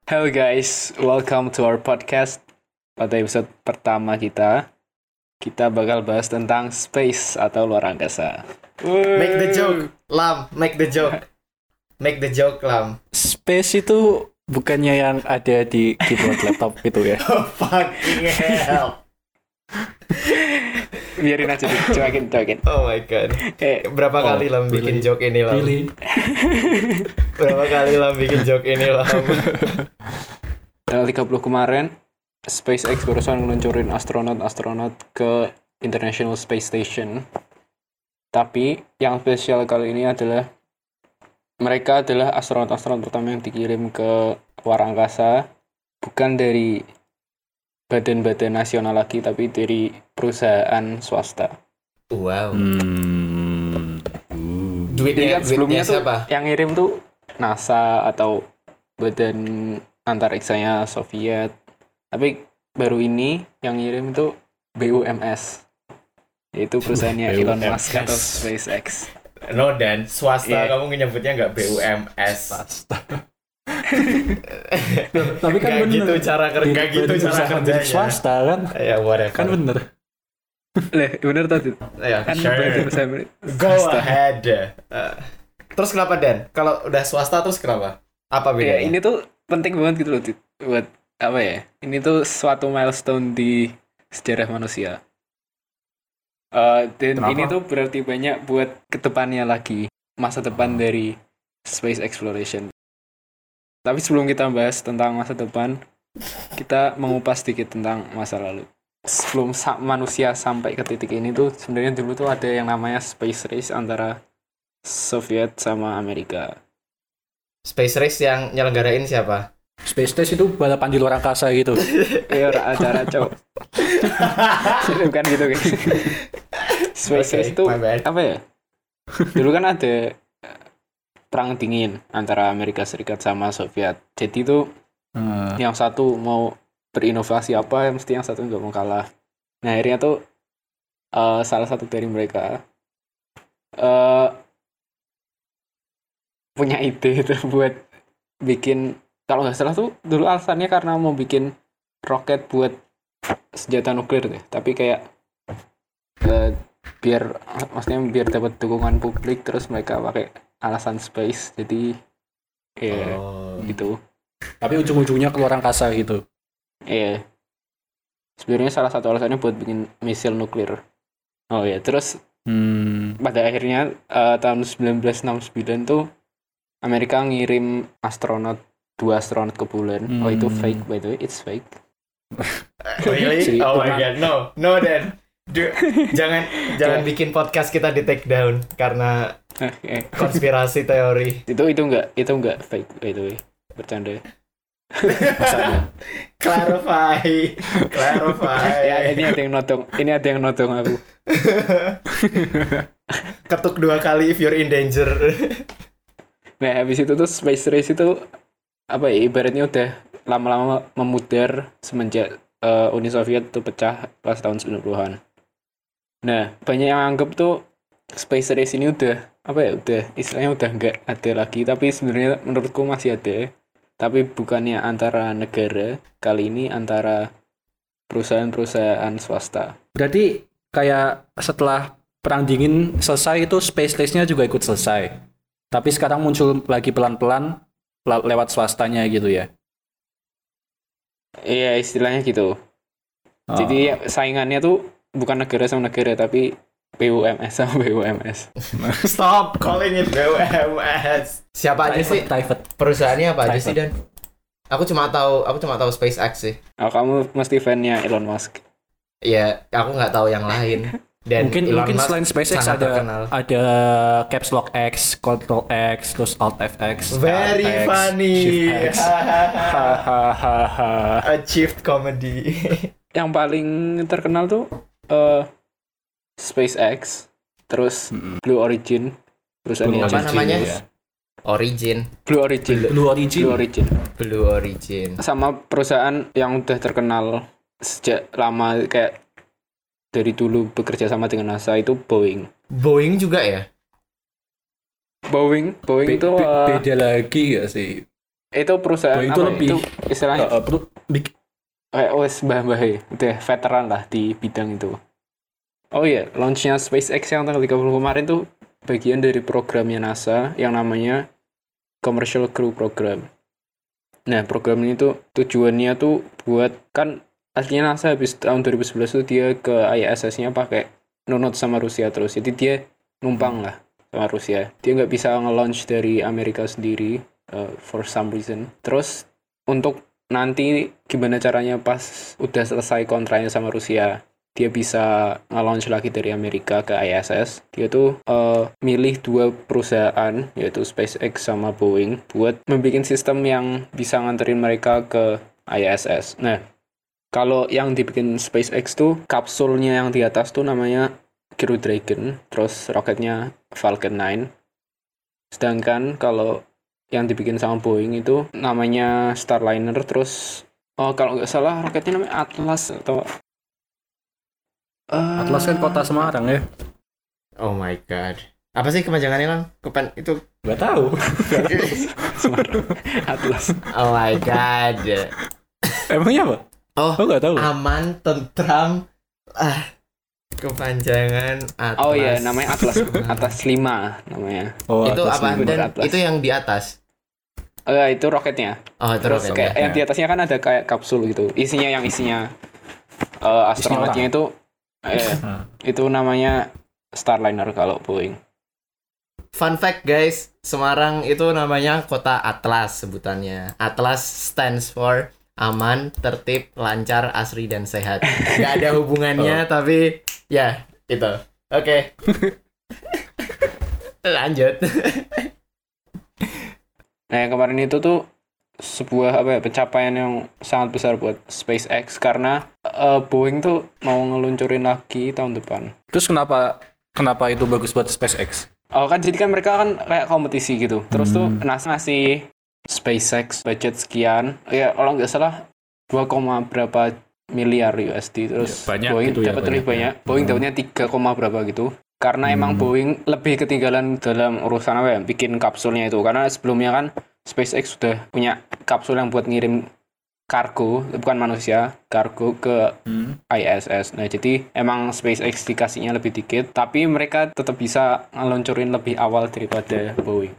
Hello guys, welcome to our podcast. Pada episode pertama kita bakal bahas tentang space atau luar angkasa. Make the joke, Lam. Make the joke, Lam. Space itu bukannya yang ada di keyboard laptop itu ya? Oh, fucking hell. Biarin aja, cuekin. Oh my god. Berapa kali Lam bikin joke ini, Lam? Really? Berapa kali Lam bikin joke ini, Lam? Tanggal 30 kemarin, SpaceX barusan ngeluncurin astronot ke International Space Station. Tapi yang spesial kali ini adalah mereka adalah astronot pertama yang dikirim ke luar angkasa, bukan dari badan-badan nasional lagi, tapi dari perusahaan swasta. Wow. Jadi Duitnya kan sebelumnya tuh siapa? yang ngirim tuh NASA atau badan antariksanya Soviet. Tapi baru ini yang ngirim tuh BUMS, yaitu perusahaannya Elon Musk atau SpaceX. No, Dan. Swasta, Yeah. kamu nyebutnya nggak BUMS. Tapi kan Nggak gitu cara kerja kerjanya. Swasta kan? Ya, whatever. Kan bener. Bener tadi. Ya, Kan sure. badan usaha Go swasta. ahead. Terus kenapa, Dan? Kalau udah swasta terus kenapa? Apa Ya, bedanya? ini tuh penting banget gitu loh, Dit. Buat apa ya? Ini tuh suatu milestone di sejarah manusia. Dan Kenapa? ini tuh berarti banyak buat kedepannya lagi, masa depan dari space exploration. Tapi sebelum kita bahas tentang masa depan, kita mengupas sedikit tentang masa lalu. Sebelum manusia sampai ke titik ini tuh sebenarnya dulu tuh ada yang namanya space race antara Soviet sama Amerika. Space race yang nyelenggarain siapa? Space Station itu balapan di luar angkasa gitu. Ya acara cowok. Bukan gitu guys. Space race itu my bad. apa ya? Dulu kan ada perang dingin antara Amerika Serikat sama Soviet. Jadi tuh yang satu mau berinovasi apa, mesti yang satu nggak mau kalah. Nah akhirnya tuh salah satu dari mereka punya ide itu buat bikin, kalau nggak salah tuh dulu alasannya karena mau bikin roket buat senjata nuklir deh. Tapi kayak biar dapat dukungan publik, terus mereka pakai alasan space. Jadi ya gitu. Tapi ujung-ujungnya ke luar angkasa gitu. Iya. Sebenarnya salah satu alasannya buat bikin misil nuklir. Oh ya, terus pada akhirnya tahun 1969 tuh Amerika ngirim dua astronot ke bulan. Oh itu fake, by the way, it's fake. Really? Si Oh my Tuhan. god, no, Dan. Jangan bikin podcast kita di take down karena konspirasi teori. itu enggak fake, by the way, bercanda. Clarify. Ya ini ada yang nodong aku. Ketuk 2 kali if you're in danger. Nah habis itu tuh space race itu apa ya, ibaratnya udah lama-lama memudar semenjak Uni Soviet tuh pecah pas tahun 90-an. Nah banyak yang anggap tuh space race ini udah istilahnya udah nggak ada lagi, tapi sebenarnya menurutku masih ada, tapi bukannya antara negara, kali ini antara perusahaan swasta. Berarti kayak setelah perang dingin selesai itu space race-nya juga ikut selesai. Tapi sekarang muncul lagi pelan-pelan lewat swastanya gitu ya. Iya istilahnya gitu. Jadi saingannya tuh bukan negara sama negara, tapi BUMS sama BUMS. Stop calling it BUMS. Siapa aja sih? Private. Perusahaannya apa aja Private. sih, Dan? Aku cuma tahu SpaceX sih. Oh, kamu mesti fan-nya Elon Musk. Ya, aku nggak tahu yang lain. Dan Mungkin Elon Musk selain SpaceX sangat terkenal. ada Caps Lock X, Control X, terus Alt FX, Very Alt X, funny. Shift X. Hahaha. Achieved comedy. Yang paling terkenal tuh SpaceX, terus Blue Origin, perusahaan Apa namanya? ya. Origin. Blue Origin. Blue Origin. Sama perusahaan yang udah terkenal sejak lama, kayak dari dulu bekerja sama dengan NASA, itu Boeing. Boeing juga ya? Boeing itu Beda lagi gak sih? Itu perusahaan Boeing itu apa? lebih Itu istilahnya kayak mbah-mbah udah veteran lah di bidang itu. Oh iya, launchnya SpaceX yang tanggal 30 kemarin tuh bagian dari programnya NASA yang namanya Commercial Crew Program. Nah, program ini tuh tujuannya tuh buat, kan aslinya NASA habis tahun 2011 tuh dia ke ISS-nya pakai nunut sama Rusia terus. Jadi dia numpang lah sama Rusia. Dia nggak bisa nge-launch dari Amerika sendiri for some reason. Terus untuk nanti gimana caranya pas udah selesai kontraknya sama Rusia, dia bisa nge-launch lagi dari Amerika ke ISS. Dia tuh milih 2 perusahaan, yaitu SpaceX sama Boeing, buat membuat sistem yang bisa nganterin mereka ke ISS. Nah, kalau yang dibikin SpaceX tuh kapsulnya yang di atas tuh namanya Crew Dragon, terus roketnya Falcon 9. Sedangkan kalau yang dibikin sama Boeing itu namanya Starliner, terus kalau nggak salah roketnya namanya Atlas atau Atlas kan kota Semarang ya. Oh my god. Apa sih kepanjangannya Lang? Itu Gak tahu. Atlas. oh my god. Emangnya apa? Oh, Gak tahu. aman, tentram. Kepanjangan Atlas. Oh iya, namanya Atlas. Atlas 5 namanya. Oh, Itu Atlas apa? ini. Dan Atlas. itu yang di atas. Itu roketnya. Oh, itu Terus roketnya. kayak yang di atasnya kan ada kayak kapsul gitu. Isinya astronautnya itu itu namanya Starliner kalau Boeing. Fun fact guys, Semarang itu namanya kota Atlas sebutannya. Atlas stands for aman, tertib, lancar, asri, dan sehat. Gak ada hubungannya, tapi ya itu. Oke. Lanjut. Nah, yang kemarin itu tuh sebuah pencapaian yang sangat besar buat SpaceX karena Boeing tuh mau ngeluncurin lagi tahun depan. Terus kenapa itu bagus buat SpaceX? Oh kan, jadi kan mereka kan kayak kompetisi gitu. Terus tuh NASA ngasih SpaceX budget sekian. Ya kalau nggak salah 2, berapa miliar USD. Terus Ya, banyak Boeing gitu ya, dapat lebih banyak. Boeing dapatnya 3, berapa gitu. Karena emang Boeing lebih ketinggalan dalam urusan bikin kapsulnya itu. Karena sebelumnya kan SpaceX sudah punya kapsul yang buat ngirim kargo, bukan manusia, kargo ke ISS. Nah, jadi emang SpaceX dikasihnya lebih dikit, tapi mereka tetap bisa ngeluncurin lebih awal daripada Boeing.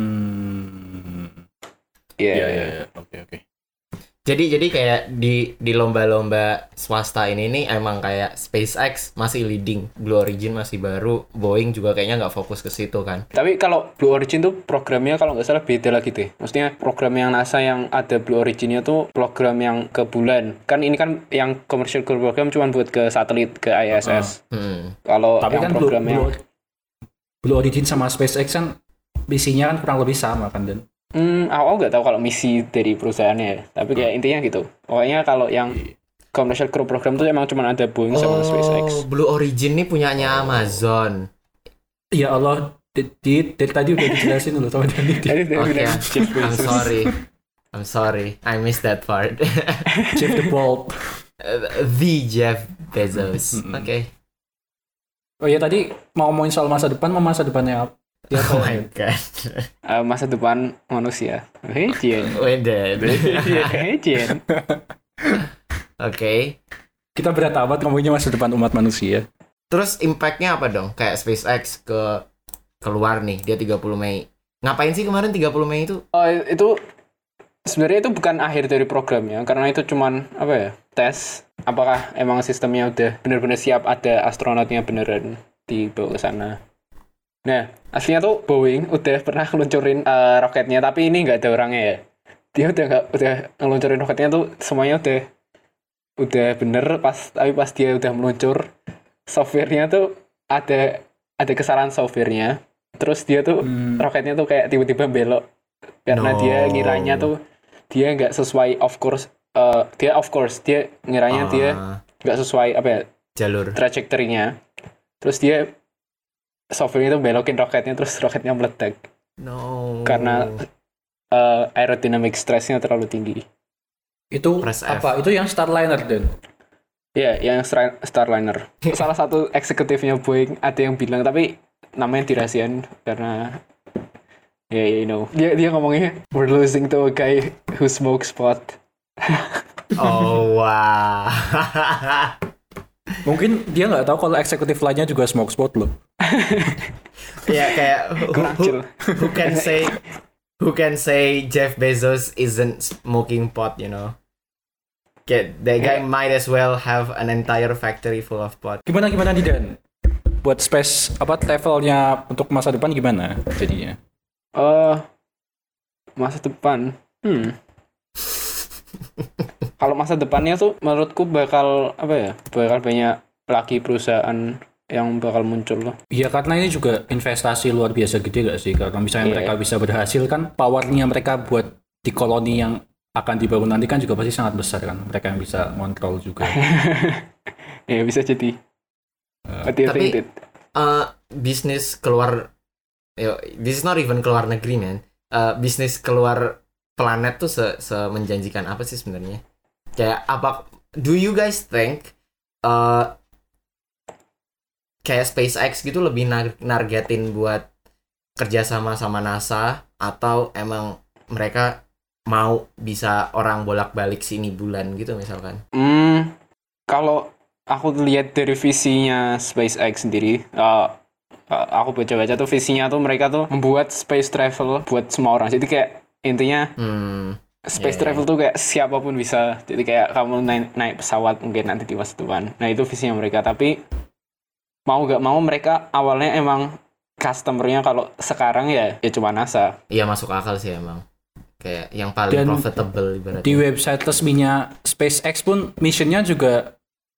Iya. Oke. Jadi kayak di lomba-lomba swasta ini nih emang kayak SpaceX masih leading, Blue Origin masih baru, Boeing juga kayaknya nggak fokus ke situ kan. Tapi kalau Blue Origin tuh programnya kalau nggak salah beda lagi deh. Maksudnya program yang NASA yang ada Blue Originnya tuh program yang ke bulan. Kan ini kan yang commercial crew program cuma buat ke satelit, ke ISS. Kalau Tapi yang kan program yang Blue Origin sama SpaceX kan misinya kan kurang lebih sama kan, Dan? Aku nggak tahu kalau misi dari perusahaannya ya. Tapi kayak intinya gitu. Pokoknya kalau yang commercial crew program tuh emang cuma ada Boeing sama SpaceX. Blue Origin nih punyanya Amazon. Ya Allah, dari tadi udah dijelasin loh sama Dani. Oke, I'm sorry. I missed that part. Jeff the Bold. The Jeff Bezos. Oke. Oh ya, tadi mau ngomongin soal masa depan, masa depannya apa? Ya, Oh my god. Masa depan manusia. Jen. Oke. Kita berat amat ngomongnya masa depan umat manusia. Terus impact-nya apa dong? Kayak SpaceX keluar nih, dia 30 Mei. Ngapain sih kemarin 30 Mei itu? Itu sebenarnya itu bukan akhir dari programnya, karena itu cuman tes apakah emang sistemnya udah benar-benar siap, ada astronotnya beneran dibawa ke sana. Nah, aslinya tuh Boeing udah pernah ngeluncurin roketnya, tapi ini nggak ada orangnya ya. Dia udah ngeluncurin roketnya tuh semuanya udah bener, tapi pas dia udah meluncur, softwarenya tuh ada kesalahan softwarenya. Terus dia tuh roketnya tuh kayak tiba-tiba belok karena dia ngiranya tuh dia nggak sesuai dia ngiranya dia nggak sesuai jalur trajektorinya. Terus dia software itu belokin roketnya, terus roketnya meledak. Karena aerodynamic stressnya terlalu tinggi. Itu apa? Itu yang Starliner, Dan? Iya, yang Starliner. Salah satu eksekutifnya Boeing ada yang bilang, tapi namanya dirahasiain karena Yeah, you know. Dia ngomongnya, we're losing to a guy who smokes pot. Oh wow. Mungkin dia nggak tahu kalau eksekutif lainnya juga smoke spot loh. Ya kayak Kecil. who can say Jeff Bezos isn't smoking pot, you know? Kayak that guy might as well have an entire factory full of pot. Gimana nih Dan? Buat space levelnya untuk masa depan gimana jadinya? Masa depan. Kalau masa depannya tuh menurutku bakal banyak lagi perusahaan yang bakal muncul loh. Iya, karena ini juga investasi luar biasa gede gak sih? Karena misalnya mereka bisa berhasil kan, powernya mereka buat di koloni yang akan dibangun nanti kan juga pasti sangat besar kan. Mereka yang bisa kontrol juga. Ya bisa jadi. Tapi bisnis keluar, this is not even keluar negeri man. Bisnis keluar planet tuh semenjanjikan apa sih sebenarnya? Kayak apa? Do you guys think kayak SpaceX gitu lebih nargetin buat kerjasama sama NASA, atau emang mereka mau bisa orang bolak-balik sini bulan gitu misalkan? Kalau aku lihat dari visinya SpaceX sendiri, aku baca-baca tuh visinya tuh mereka tuh membuat space travel buat semua orang. Jadi kayak intinya space travel tuh kayak siapapun bisa. Jadi kayak kamu naik pesawat mungkin nanti di masa depan. Nah itu visinya mereka. Tapi mau gak mau mereka awalnya emang customer-nya kalau sekarang ya cuma NASA. Iya masuk akal sih emang. Kayak yang paling profitable ibaratnya. Di website resminya SpaceX pun missionnya juga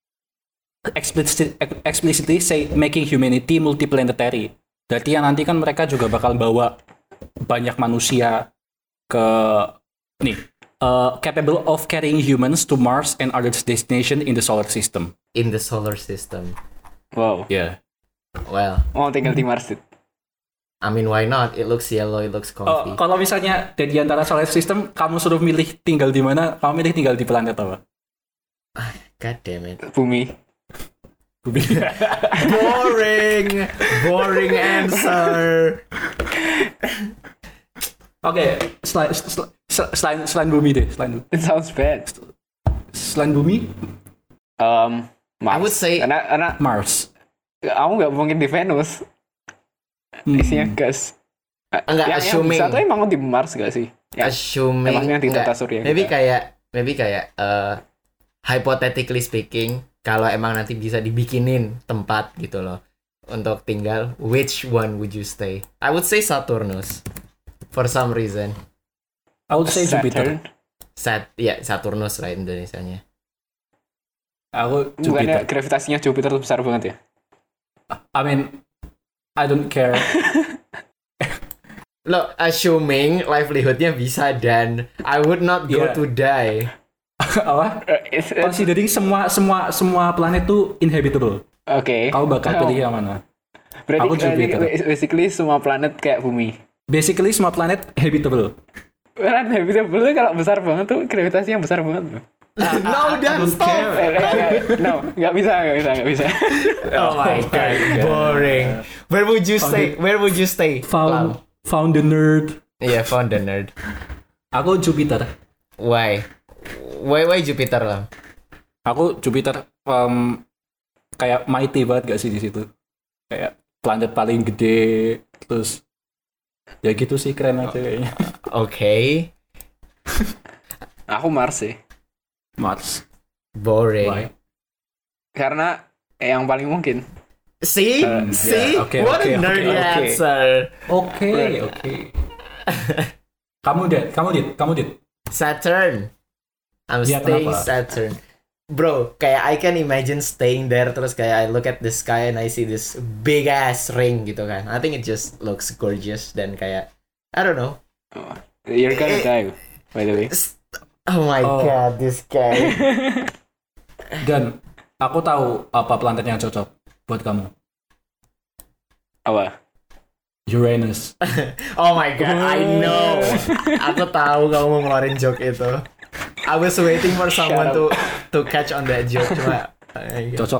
explicitly say making humanity multiplanetary. Berarti yang nanti kan mereka juga bakal bawa banyak manusia ke capable of carrying humans to Mars and other destination in the solar system. In the solar system. Wow. Yeah. Well. Oh tinggal di Mars. I mean why not? It looks yellow, it looks comfy. Kalau misalnya di antara solar system kamu suruh milih tinggal di mana, kamu milih tinggal di planet apa? God damn it. Bumi. Boring answer. Oke, selain bumi deh, It sounds bad. Selain bumi, Mars. I would say karena Mars. Aku nggak mungkin di Venus. Isinya gas. Enggak, assuming. Yang satu emang di Mars gak sih? Ya, Assuming. emangnya di tata surya. Maybe kayak hypothetically speaking, kalau emang nanti bisa dibikinin tempat gitu loh untuk tinggal, which one would you stay? I would say Saturnus. For some reason. I would say Jupiter. Saturnus lah Indonesianya. Aku Bukannya Jupiter. gravitasinya Jupiter tuh besar banget ya? I mean, I don't care. Look, assuming livelihoodnya bisa dan I would not go to die. Apa? Considering semua planet tuh inhabitable. Oke. Kau bakal pilih yang mana? Berarti Jupiter. basically semua planet kayak bumi. Basically semua planet habitable. Kan habitable kalau besar banget tuh gravitasinya besar banget. No, Dan, stop. No, nggak bisa. Oh my god, boring. Where would you stay? Found the nerd. Yeah, found the nerd. Aku Jupiter. Why Jupiter lah? Aku Jupiter kayak mighty banget gak sih di situ? Kayak planet paling gede, terus ya gitu sih, keren aja kayaknya. Okay. Aku Mars sih. Mars. Boring. Why? Karena yang paling mungkin. See? Okay, What a nerdy answer. Okay. Kamu dit. Saturn. I'm Ya, staying kenapa? Saturn. Bro, kayak I can imagine staying there terus kayak I look at the sky and I see this big ass ring gitu kan. I think it just looks gorgeous dan kayak I don't know. You're gonna die, by the way. Oh my god, this guy. Dan aku tahu apa planet yang cocok buat kamu. Apa? Uranus. Oh my god, I know. Aku tahu kamu mau ngeluarin joke itu. I was waiting for someone to catch on that joke cuma. Cocok.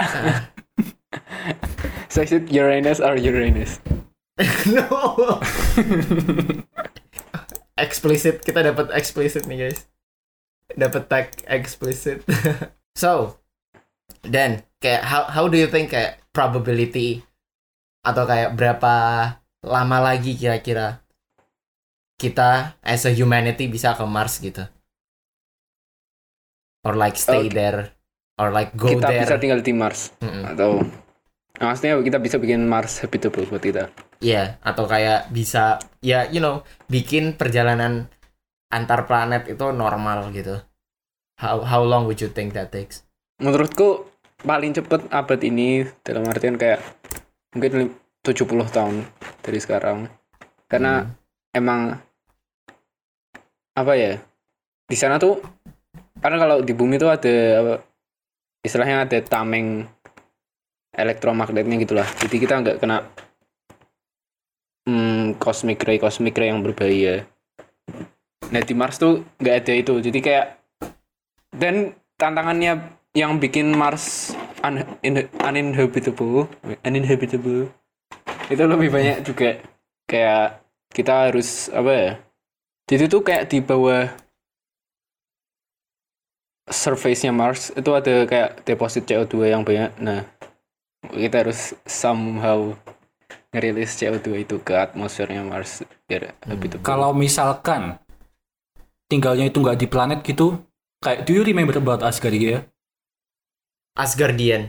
So is it Uranus or Uranus? No. Explicit, kita dapat explicit nih guys. Dapat tag explicit. So, then kayak how do you think kayak probability atau kayak berapa lama lagi kira-kira kita as a humanity bisa ke Mars gitu? Or like stay there or like go Kita there. bisa tinggal di Mars atau maksudnya kita bisa bikin Mars habitable buat kita. Iya, atau kayak bisa ya bikin perjalanan antar planet itu normal gitu. How long would you think that takes? Menurutku paling cepet abad ini dalam artian kayak mungkin 70 tahun dari sekarang. Karena emang apa ya? Di sana tuh karena kalau di bumi tuh ada istilahnya ada tameng elektromagnetnya gitulah. Jadi kita nggak kena cosmic ray yang berbahaya. Nah di Mars tuh nggak ada itu. Jadi kayak dan tantangannya yang bikin Mars uninhabitable itu lebih banyak juga. Kayak kita harus apa ya? Jadi tuh kayak di bawah surface-nya Mars itu ada kayak deposit CO2 yang banyak. Nah, kita harus somehow ngerilis CO2 itu ke atmosfernya Mars biar habitable. Kalau misalkan tinggalnya itu nggak di planet gitu, kayak do you remember about Asgardia? Asgardia.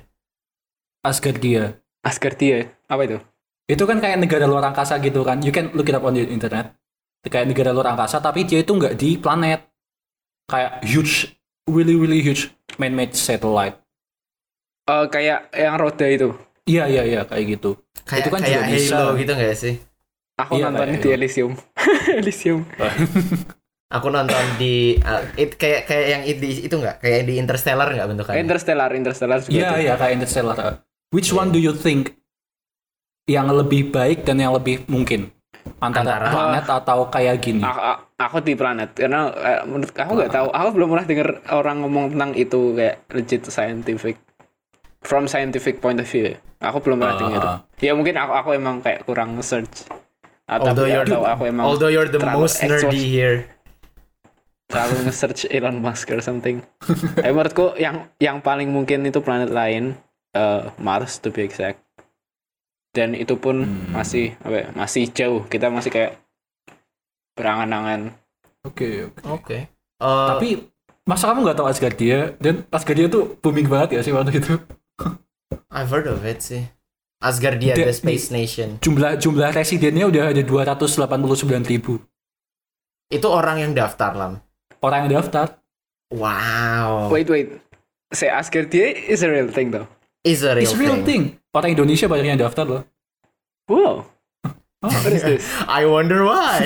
Asgardia, apa itu? Itu kan kayak negara luar angkasa gitu kan. You can look it up on the internet. Kayak negara luar angkasa, tapi dia itu nggak di planet. Kayak huge, really huge man-made satellite. Kayak yang roda itu. Iya, kayak gitu. Kayak itu kan kayak juga bisa. Halo gitu nggak sih? Aku Iya, nonton kayak di Halo. Elysium. Aku nonton di kayak yang itu nggak? Kayak di Interstellar nggak bentukannya? Interstellar juga. Iya, kayak Interstellar. Which one do you think yang lebih baik dan yang lebih mungkin? Antara planet atau kayak gini? Aku di planet karena menurut aku nggak tahu. Aku belum pernah dengar orang ngomong tentang itu kayak legit scientific. From scientific point of view. Aku belum pernah dengar. Ya mungkin aku emang kayak kurang search. Although you're the most nerdy here. Terlalu nge-search Elon Musk or something. Menurutku yang paling mungkin itu planet lain, Mars to be exact. Dan itu pun masih jauh. Kita masih kayak berangan-angan. Oke. Tapi Tapi masa kamu nggak tahu Asgardia? Dan Asgardia tuh booming banget ya sih waktu itu. I've heard of it sih. Asgardia, the Space Nation. Jumlah residennya udah ada 289.000. Itu orang yang daftar, Lam. Orang yang daftar. Wow. Wait. Say Asgardia is a real thing though. Is a real thing. Orang Indonesia banyak yang daftar loh. Wow. What is this? I wonder why.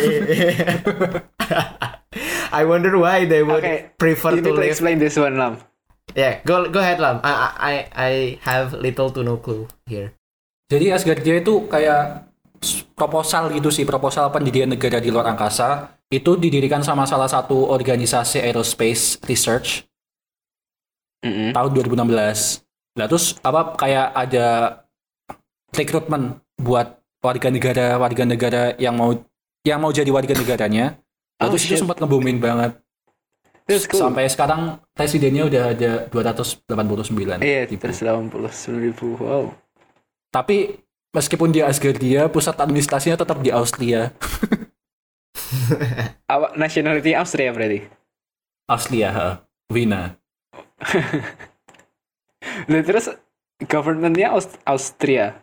I wonder why they would prefer you to need to live. explain this one, Lam. Yeah, go ahead, Lam. I have little to no clue here. Jadi Asgardia itu kayak proposal gitu sih, proposal pendirian negara di luar angkasa. Itu didirikan sama salah satu organisasi aerospace research tahun 2016. Nah terus kayak ada rekrutmen buat warga negara yang mau jadi warga negaranya. Terus itu sempat nge-booming banget. Cool. Sampai sekarang presidennya udah ada 289. Iya, 289.000. Wow. Tapi meskipun di Asgardia, pusat administrasinya tetap di Austria. Nationality Austria berarti? Austria, Wiener. Nah, terus governmentnya Austria.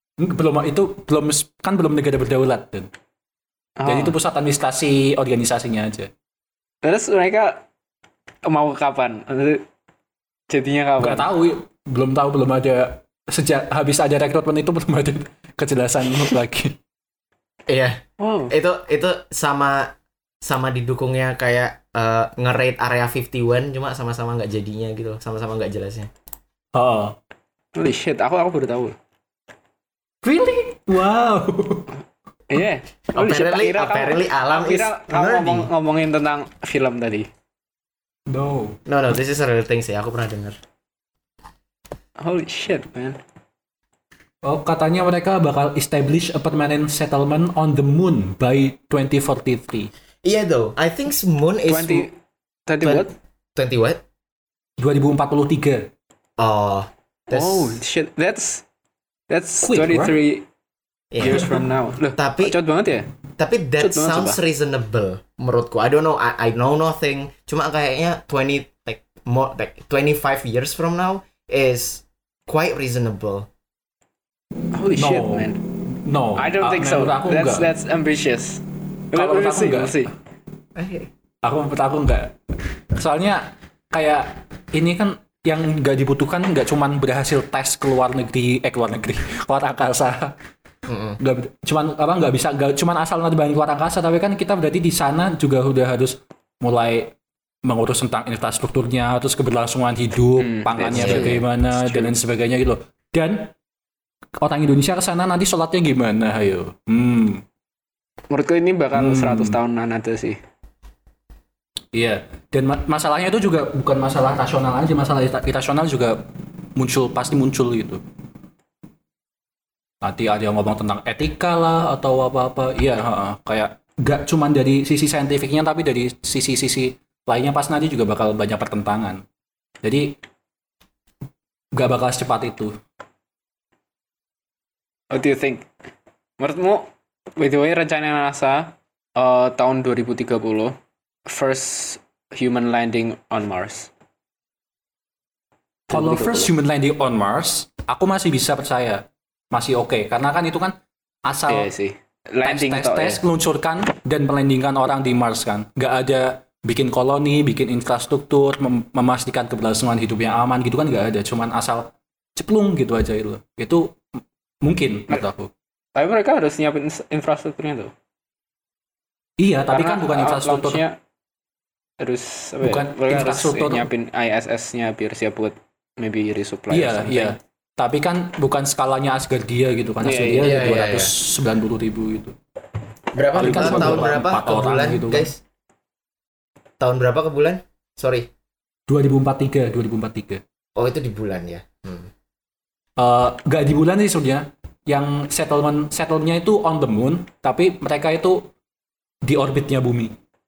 Belum negara berdaulat dan. Jadi itu pusat administrasi organisasinya aja. Terus mereka mau kapan? Jadinya kapan? Gak tahu, belum ada sejak habis ada rekrutmen itu belum ada kejelasan lagi. Iya. Wow. Itu sama didukungnya kayak nge-raid area 51 cuma sama-sama nggak jadinya gitu, sama-sama nggak jelasnya. Oh. Holy shit, aku baru tahu. Really? Wow. Iya. Yeah. Apparently Alam is kamu ngomongin tentang film tadi. No, this is a real thing sih, aku pernah dengar. Holy shit, man. Oh, katanya mereka bakal establish a permanent settlement on the moon by 2043. Iya though, I think moon is 20 what? 20 what? 2043. Oh, Oh shit, that's Quick, 23 yeah. years from now. Loh, Tapi- cepet banget ya? Tapi that Cepet banget, sounds sumpah. reasonable menurutku. I don't know, I know nothing. Cuma kayaknya 25 years from now is quite reasonable. Holy No. shit, man. No, I don't think so. menurut aku enggak. That's ambitious. Kalau menurut aku enggak. We'll see. Menurut aku enggak. Soalnya kayak ini kan yang nggak dibutuhkan nggak cuman berhasil tes keluar angkasa. Nggak bisa cuman asal nerbangin keluar angkasa, tapi kan kita berarti di sana juga udah harus mulai mengurus tentang infrastrukturnya, terus keberlangsungan hidup, pangannya that's true. bagaimana That's dan true. lain sebagainya gitu loh. Dan orang Indonesia ke sana nanti sholatnya gimana, ayo. Menurutku ini bakal 100 tahunan ada sih. Iya, dan masalahnya itu juga bukan masalah rasional aja, masalah irasional juga pasti muncul gitu. Nanti ada yang ngomong tentang etika lah atau apa-apa. Iya, kayak nggak cuma dari sisi saintifiknya, tapi dari sisi-sisi lainnya pas nanti juga bakal banyak pertentangan. Jadi nggak bakal secepat itu. What do you think? Menurutmu, by the way, rencana NASA tahun 2030 first human landing on Mars. Kalau first human landing on Mars, aku masih bisa percaya, masih oke, karena kan itu kan asal Iya sih. Landing tes meluncurkan dan melandingkan orang di Mars kan, nggak ada bikin koloni, bikin infrastruktur, memastikan keberlangsungan hidup yang aman gitu kan nggak ada, cuman asal ceplung gitu aja itu mungkin menurut aku. Tapi mereka harus nyiapin infrastrukturnya tuh. Iya, tapi Karena kan bukan infrastruktur. launch-nya harus Bukan mereka infrastruktur. harus nyiapin ISS-nya biar siap buat maybe resupply or Iya, something. iya. Tapi kan bukan skalanya Asgardia gitu kan. Iya, Asgardia iya, iya, 290.000 gitu. Berapa Paling kan cuma tahun berapa? berapa 4 ke orang bulan, gitu kan. guys? Tahun berapa ke bulan? Sorry. 2043. Oh, itu di bulan ya. Nggak di bulan sih sebenarnya. Yang settlementnya itu on the moon, tapi mereka itu di orbitnya bumi.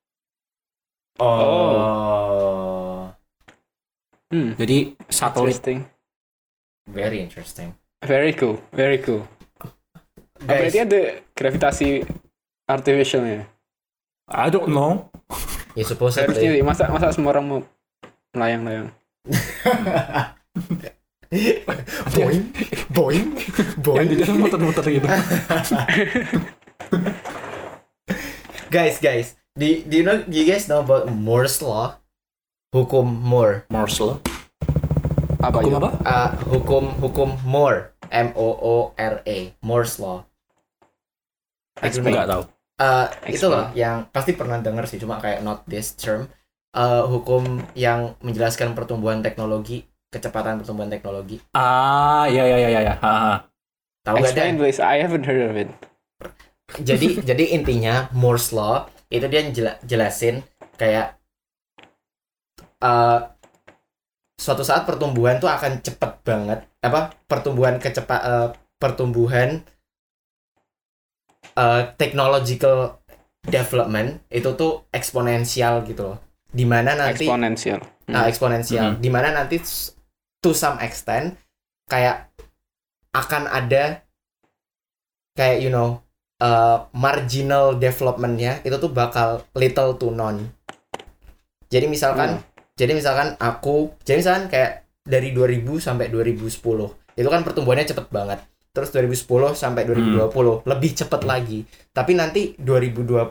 Oh. Jadi satelit. Interesting. Very interesting. Very cool. Very cool. Guys, Berarti ada gravitasi artificialnya. I don't know. ya Harusnya supposedly. sih, masa semua orang mau melayang-layang. boing, boing, Yang boing. di dalam muter-muter gitu. Guys, do you guys know about Moore's law? Hukum Moore. Morse law. Apa Hukum ya? apa? Hukum Moore. Moore. Moore's law. Explain. Nggak tahu. Itu loh yang pasti pernah denger sih, cuma kayak not this term. Hukum yang menjelaskan pertumbuhan teknologi, kecepatan pertumbuhan teknologi. Iya. Tahu nggak Explain Dan? please, I haven't heard of it. Jadi intinya Moore's law itu dia jelasin kayak suatu saat pertumbuhan tuh akan cepet banget, pertumbuhan technological development itu tuh eksponensial gitu loh, dimana nanti Exponential. eksponensial, dimana nanti to some extent kayak akan ada kayak marginal development-nya itu tuh bakal little to none. Jadi misalkan kayak dari 2000 sampai 2010 itu kan pertumbuhannya cepet banget. Terus 2010 sampai 2020 lebih cepet lagi. Tapi nanti 2020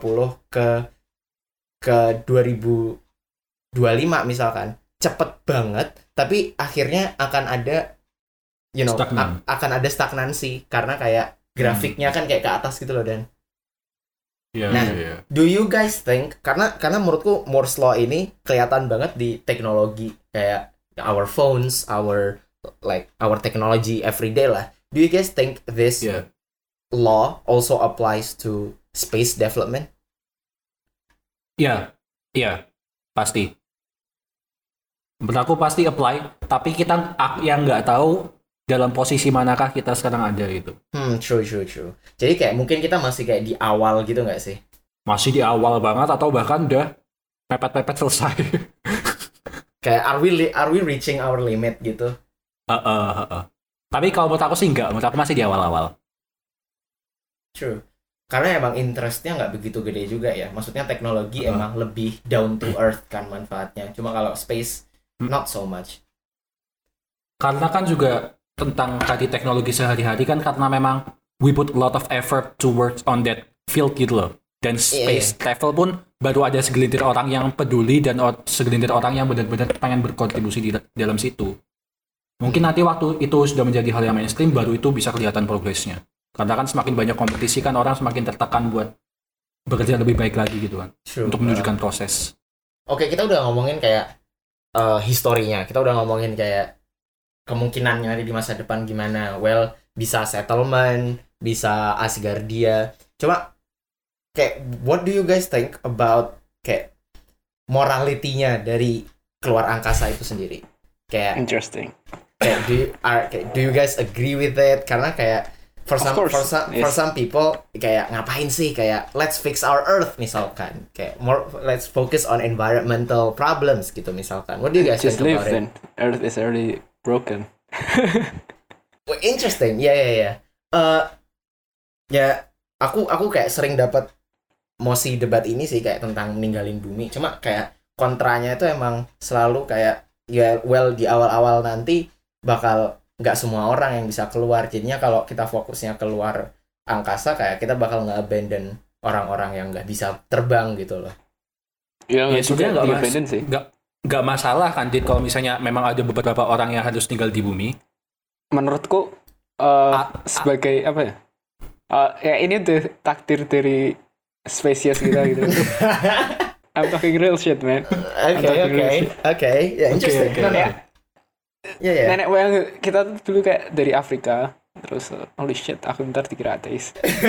ke 2025 misalkan cepet banget, tapi akhirnya akan ada Stagnan. akan ada stagnansi karena kayak grafiknya kan kayak ke atas gitu loh Dan. Nah, do you guys think karena menurutku Moore's law ini kelihatan banget di teknologi kayak our phones, our technology everyday lah. Do you guys think this law also applies to space development? Iya, pasti. Menurut aku pasti apply, tapi kita yang nggak tahu dalam posisi manakah kita sekarang ada gitu. True. Jadi kayak mungkin kita masih kayak di awal gitu nggak sih? Masih di awal banget atau bahkan udah pepet-pepet selesai. Kayak are we reaching our limit gitu? Tapi kalau menurut aku sih enggak, menurut aku masih di awal-awal. True. Karena emang interestnya nggak begitu gede juga ya. Maksudnya teknologi emang lebih down to earth kan manfaatnya. Cuma kalau space not so much. Karena kan juga tentang tadi teknologi sehari-hari kan karena memang we put a lot of effort to work on that field gitu loh. Dan space travel pun baru ada segelintir orang yang peduli dan segelintir orang yang benar-benar pengen berkontribusi di dalam situ. Mungkin nanti waktu itu sudah menjadi hal yang mainstream, baru itu bisa kelihatan progresnya. Karena kan semakin banyak kompetisi kan orang semakin tertekan buat bekerja lebih baik lagi gitu kan. True. Untuk menunjukkan proses. Oke, kita udah ngomongin kayak historinya. Kita udah ngomongin kayak kemungkinannya di masa depan gimana. Well, bisa settlement, bisa Asgardia. Cuma kayak what do you guys think about kayak morality-nya dari keluar angkasa itu sendiri? Kayak Interesting. kayak do you guys agree with it? Karena kayak for some people kayak ngapain sih, kayak let's fix our earth misalkan, kayak let's focus on environmental problems gitu misalkan. What do you guys Just think live about then. Earth is already broken. Well, interesting. Ya. Ya aku kayak sering dapat mosi debat ini sih kayak tentang ninggalin bumi. Cuma kayak kontranya itu emang selalu kayak ya well di awal-awal nanti bakal nggak semua orang yang bisa keluar. Jadinya kalau kita fokusnya keluar angkasa kayak kita bakal nge-abandon orang-orang yang nggak bisa terbang gitu loh. Ya sebenarnya abandon sih. Nggak masalah kan, Dit, kalau misalnya memang ada beberapa orang yang harus tinggal di bumi. Menurutku sebagai apa ya? Ya ini tuh takdir dari spesies kita gitu. I'm talking real shit, man. Okay. Ya, interesting. Ya. Nenek moyang kita tuh dulu kayak dari Afrika, terus holy shit, aku ntar dikira ateis.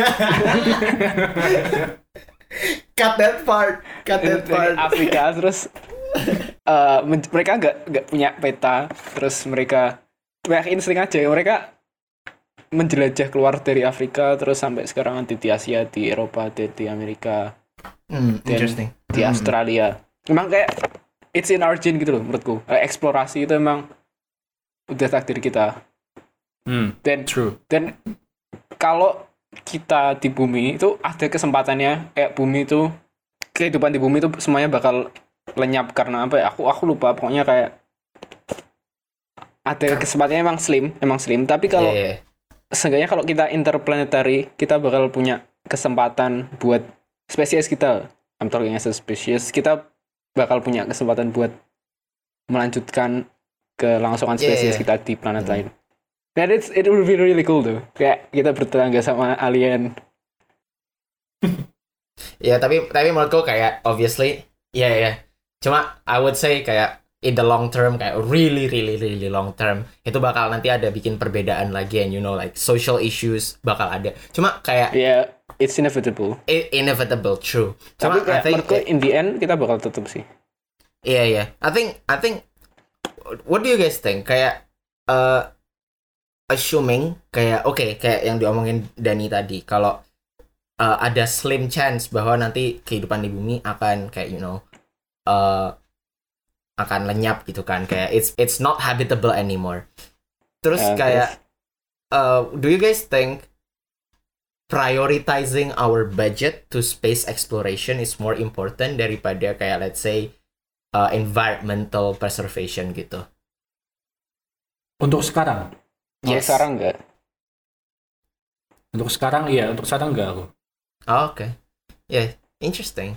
Cut that part. Dari Afrika, terus mereka nggak punya peta, terus mereka insting aja, mereka menjelajah keluar dari Afrika, terus sampai sekarang nanti di Asia, di Eropa, di Amerika, interesting. Di Australia. Memang kayak it's in our gene gitu loh menurutku. Eksplorasi itu emang udah takdir kita. True. Dan kalau kita di bumi itu ada kesempatannya, kayak bumi itu, kehidupan di bumi itu semuanya bakal lenyap karena apa ya? Aku lupa, pokoknya kayak ada kesempatannya emang slim. Tapi kalau seenggaknya kalau kita interplanetary, kita bakal punya kesempatan buat spesies kita. I'm talking as a species, kita bakal punya kesempatan buat melanjutkan kelangsungan spesies kita di planet lain. Dan it will be really cool tuh. Kayak kita bertetangga sama alien. Ya, tapi menurutku kayak obviously ya. Cuma I would say kayak in the long term, kayak really long term, itu bakal nanti ada bikin perbedaan lagi, and you know like social issues bakal ada. Cuma kayak it's inevitable. Inevitable, true. Cuma tapi menurutku in the end kita bakal tutup sih. Iya. I think what do you guys think? Kayak assuming kayak kayak yang diomongin Dani tadi, kalau ada slim chance bahwa nanti kehidupan di bumi akan kayak you know akan lenyap gitu kan, kayak it's not habitable anymore. Terus kayak do you guys think prioritizing our budget to space exploration is more important daripada kayak let's say environmental preservation gitu? Untuk sekarang? Yes. Sekarang enggak. Untuk sekarang iya, untuk sekarang enggak aku. Oke. Yeah, interesting.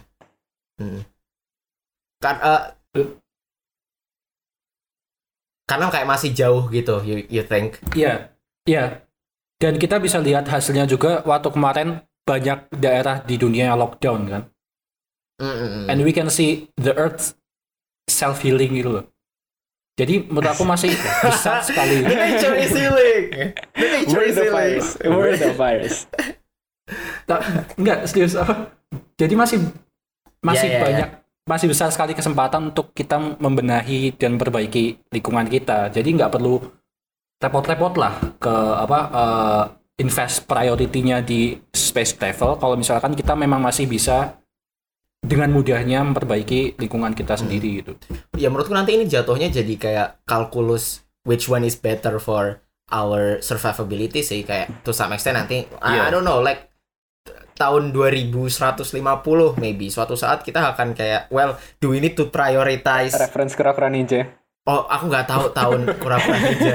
Karena kayak masih jauh gitu, you think? Iya. Dan kita bisa lihat hasilnya juga waktu kemarin banyak daerah di dunia yang lockdown kan. And we can see the earth self-healing gitu loh. Jadi menurut aku masih besar sekali. The nature is healing. We're the virus. Enggak, serius. Jadi masih Yeah. banyak, masih besar sekali kesempatan untuk kita membenahi dan memperbaiki lingkungan kita. Jadi nggak perlu repot-repot lah ke invest priority-nya di space travel kalau misalkan kita memang masih bisa dengan mudahnya memperbaiki lingkungan kita sendiri gitu. Ya menurutku nanti ini jatuhnya jadi kayak kalkulus which one is better for our survivability sih, kayak to some extent nanti I don't know, like tahun 2150 maybe suatu saat kita akan kayak, well, do we need to prioritize Reference Kura-Kura Ninja. Oh, aku nggak tahu tahun Kura-Kura Ninja.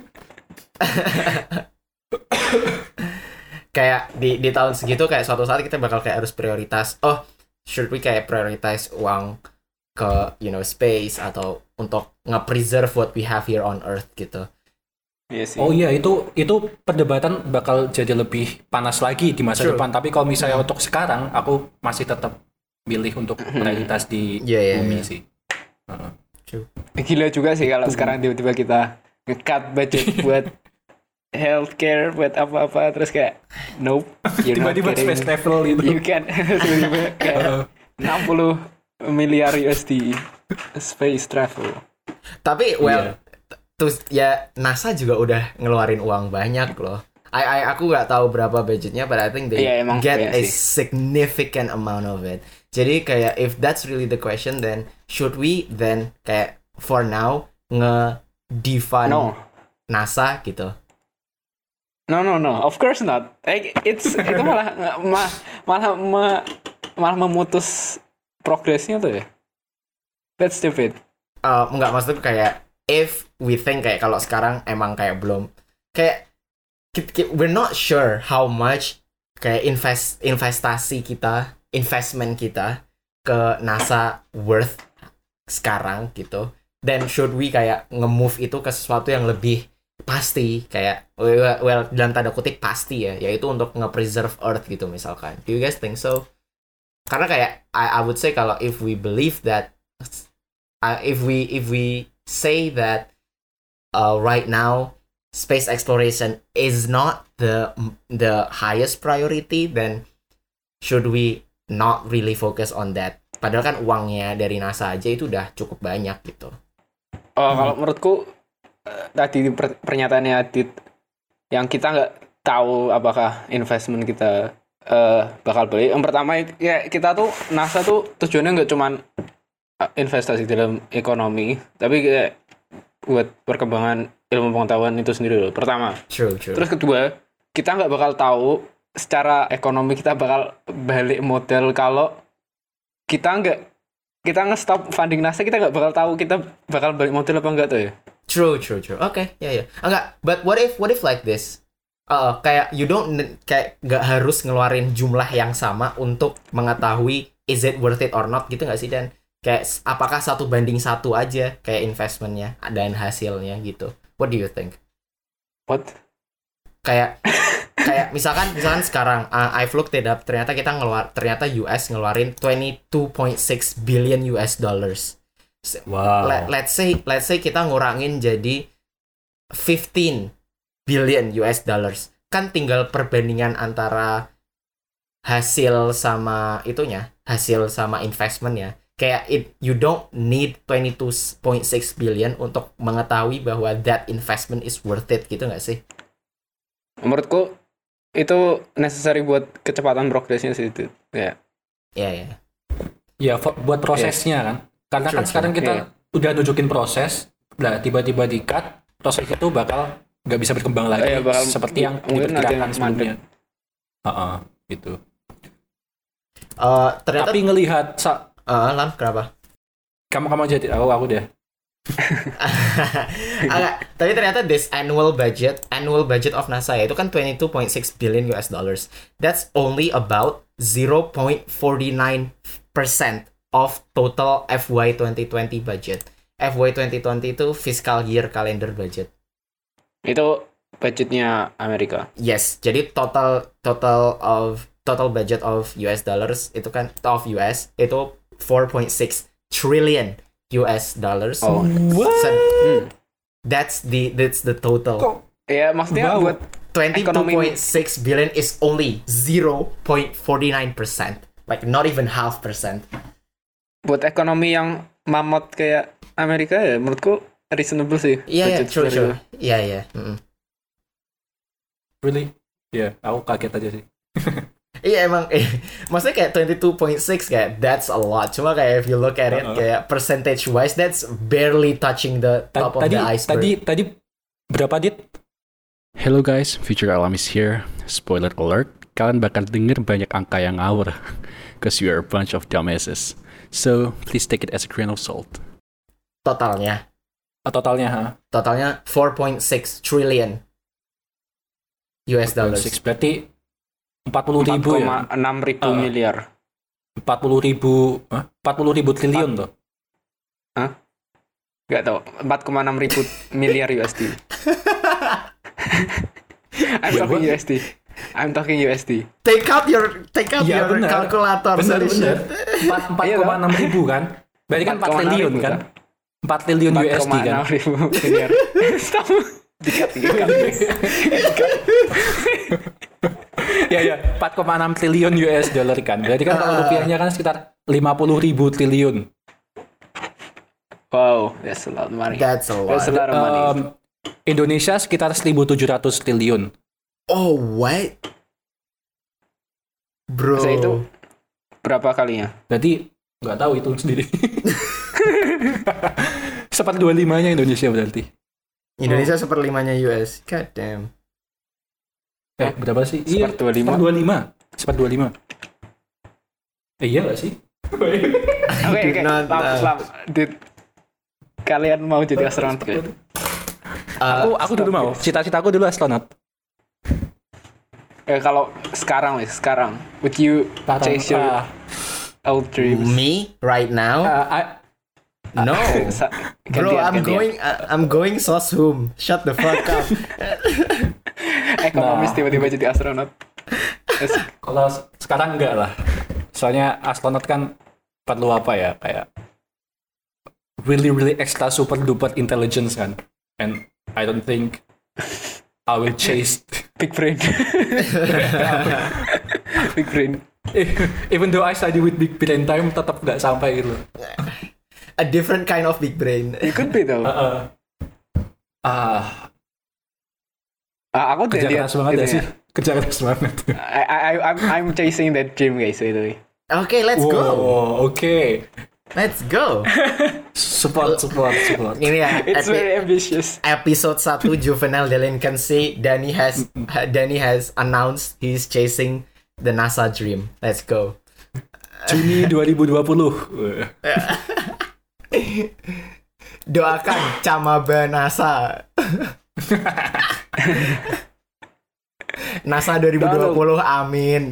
Kayak di tahun segitu kayak suatu saat kita bakal kayak harus prioritas, oh, should we kayak prioritize uang ke space atau untuk nge-preserve what we have here on Earth gitu. Iya sih. Oh iya, itu perdebatan bakal jadi lebih panas lagi di masa depan. Tapi kalau misalnya untuk sekarang, aku masih tetap milih untuk prioritas di bumi sih. Gila juga sih kalau sekarang tiba-tiba kita nge-cut budget buat healthcare, buat apa-apa, terus kayak nope, tiba-tiba space travel gitu. You can tiba-tiba kayak 60 miliar USD space travel. Tapi terus ya NASA juga udah ngeluarin uang banyak loh. Aku nggak tahu berapa budgetnya, but I think they get a significant amount of it. Jadi kayak if that's really the question, then should we then kayak for now nge-defund NASA gitu? No, of course not. Itu malah memutus progresnya tuh ya. That's stupid. Enggak, maksudnya kayak if we think kayak kalau sekarang emang kayak belum kayak we're not sure how much kayak investment kita ke NASA worth sekarang gitu. Then should we kayak nge-move itu ke sesuatu yang lebih pasti, kayak well dalam tanda kutip pasti ya, yaitu untuk nge-preserve Earth gitu misalkan. Do you guys think so? Karena kayak I would say kalau if we believe that if we say that right now space exploration is not the highest priority, then should we not really focus on that? Padahal kan uangnya dari NASA aja itu udah cukup banyak gitu. Kalau menurutku tadi pernyataannya Adit, yang kita nggak tahu apakah investment kita bakal balik. Yang pertama ya, kita tuh NASA tuh tujuannya nggak cuman investasi dalam ekonomi, tapi kayak buat perkembangan ilmu pengetahuan itu sendiri loh. Pertama. True. Terus kedua, kita nggak bakal tahu secara ekonomi kita bakal balik model kalau kita nge-stop funding NASA, kita nggak bakal tahu kita bakal balik model apa enggak tuh ya. True. Oke, ya. Enggak, but what if like this? Kayak you don't kayak nggak harus ngeluarin jumlah yang sama untuk mengetahui is it worth it or not gitu nggak sih, Dan? Kayak apakah 1:1 aja kayak investmentnya dan hasilnya gitu. What do you think? What? Kayak misalkan sekarang I've looked it up, ternyata US ngeluarin 22.6 billion US dollars. Wow. Let's say kita ngurangin jadi 15 billion US dollars. Kan tinggal perbandingan antara hasil sama investment ya. Kayak you don't need 22.6 billion untuk mengetahui bahwa that investment is worth it gitu nggak sih? Menurutku itu necessary buat kecepatan progresnya sih itu. Ya. Iya. Ya, buat prosesnya kan. Karena kan sekarang kita udah nunjukin proses, nah tiba-tiba di-cut, proses itu bakal nggak bisa berkembang lagi seperti yang diperkirakan sebelumnya. Gitu. Ternyata tapi ngelihat Lam, kenapa? Kamu jadi aku deh. Tapi ternyata this annual budget of NASA itu kan 22.6 billion US dollars. That's only about 0.49% of total FY 2020 budget. FY 2020 itu fiscal year calendar budget. Itu budgetnya Amerika. Yes, jadi total budget of US dollars itu kan of US itu 4.6 trillion US dollars. Oh, what? So, that's the total. Ya, maksudnya buat 22.6 billion is only 0.49%, like not even 0.5%. Buat ekonomi yang mamot kayak Amerika ya, menurutku reasonable sih. Iya, budget true. segitu. Iya. Really? Ya, aku kaget aja sih. Iya emang, maksudnya kayak 22.6 kayak that's a lot. Cuma kayak if you look at it kayak percentage wise, that's barely touching the top of the iceberg. Tadi berapa dit? Hello guys, Future Alam is here. Spoiler alert, kalian bakal denger banyak angka yang ngawur. Cause you are a bunch of dumbasses. So, please take it as a grain of salt. Totalnya Totalnya, 4.6 trillion US dollars. 6 berarti 40.000 ya? 4,6 ribu miliar. 40.000 triliun tuh. Gak tau, 4,6 ribu miliar USD. I'm talking USD. Take out your Iya, bener. calculator. Bener. 4,6 ribu kan? Berarti kan 4 triliun kan? 4 triliun USD kan? 4,6 ribu miliar. Stop. Dikat. Ya, 4,6 triliun US dollar kan. Berarti kan kalau rupiahnya kan sekitar 50.000 triliun. Wow, that's a lot of money. That's a lot. That's a lot of money. Indonesia sekitar 1.700 triliun. Oh, what? Bro. Masa itu berapa kalinya? Berarti nggak tahu hitung sendiri. 1/25-nya Indonesia berarti. Indonesia 1/5-nya US. God damn. Berapa sih? 1/25. 1/25. Iya nggak sih? Oke. Kalian mau jadi astronot gak? Aku dulu mau. Cita-citaku dulu astronot. Kalau sekarang, would you chase your old dreams? Me right now? No. Bro, I'm going sosum. Shut the fuck up. Ekonomis tiba-tiba jadi astronot. Kalau sekarang enggak lah. Soalnya astronot kan perlu apa ya? Kayak really extra super duper intelligence kan. And I don't think I will chase big brain. Big brain. Even though I study with big brain time tetap nggak sampai gitu. A different kind of big brain. It could be though. Aku kerja keras banget ya sih. Kerja keras banget. I'm chasing that dream guys by. Okay, let's go. Okay. Let's go. Support. Ini ya. It's very ambitious. Episode 1 Juvenile Delinquency. Danny has announced he's chasing the NASA dream. Let's go. Juni 2020. Doakan Camaba NASA. NASA 2020, amin.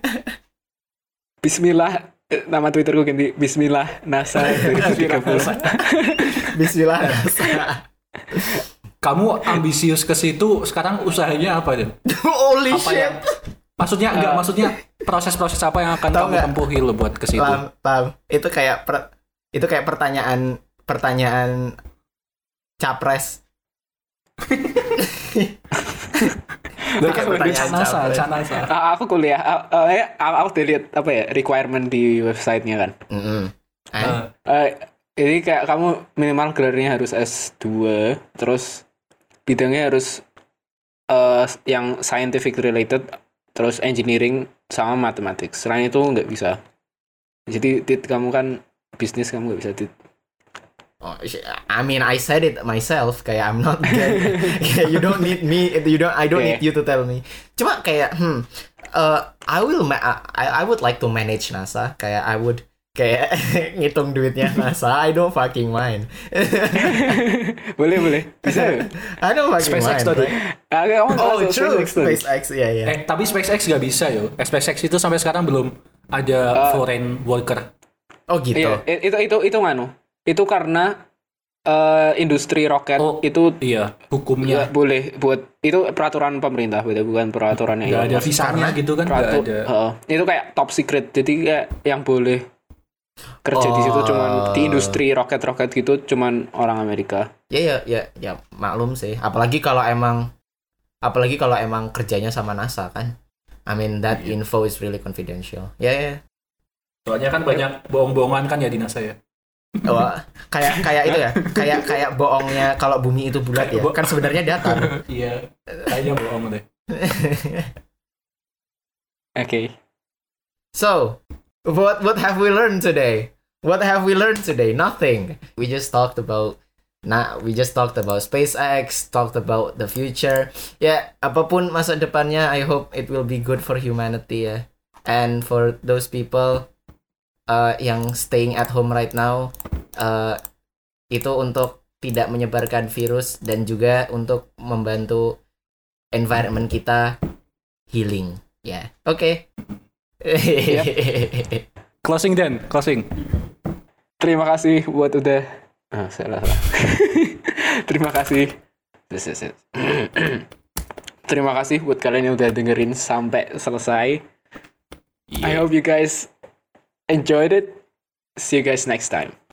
Bismillah, nama Twitterku ganti Bismillah NASA 2030. Bismillah NASA. Kamu ambisius ke situ, sekarang usahanya apa Dan? Holy Apa shit. yang maksudnya proses-proses apa yang akan Tahu kamu tempuhi lo buat ke situ? Paham. Itu kayak pertanyaan capres. Canasa. Aku kuliah. Aku udah lihat apa ya requirement di websitenya kan. Ini kayak kamu minimal gelarnya harus S2, terus bidangnya harus yang scientific related, terus engineering sama matematik. Selain itu nggak bisa. Jadi kamu kan bisnis, kamu nggak bisa Oh, I mean, I said it myself. Kayak I'm not good. Kayak you don't need me. I don't need you to tell me. Cuma kayak I would like to manage NASA. Kayak I would kayak ngitung duitnya NASA. I don't fucking mind. boleh bisa. I don't fucking SpaceX mind. tadi. Oh, true. SpaceX, yeah. Tapi SpaceX nggak bisa yo. SpaceX itu sampai sekarang belum ada foreign worker. Oh gitu. Iya, itu nganu. Itu karena industri roket itu hukumnya boleh buat itu peraturan pemerintah, bukan peraturan yang ada visanya gitu kan nggak ada. Itu kayak top secret, jadi kayak yang boleh kerja di situ cuman di industri roket gitu cuman orang Amerika. Ya maklum sih. Apalagi kalau emang kerjanya sama NASA kan. I mean that info is really confidential. Ya. Soalnya kan banyak bohong-bohongan kan ya di NASA ya. Wah, kayak itu ya, kayak bohongnya kalau bumi itu bulat ya, kan sebenarnya datar. Iya, kayaknya bohong deh. Okay. So, what have we learned today? What have we learned today? Nothing. We just talked about SpaceX, talked about the future. Ya, apapun masa depannya, I hope it will be good for humanity ya. And for those people yang staying at home right now, itu untuk tidak menyebarkan virus dan juga untuk membantu environment kita healing. Ya, oke. Closing. Terima kasih buat udah salah. Terima kasih. Terima kasih buat kalian yang udah dengerin sampai selesai. I hope you guys enjoyed it. See you guys next time.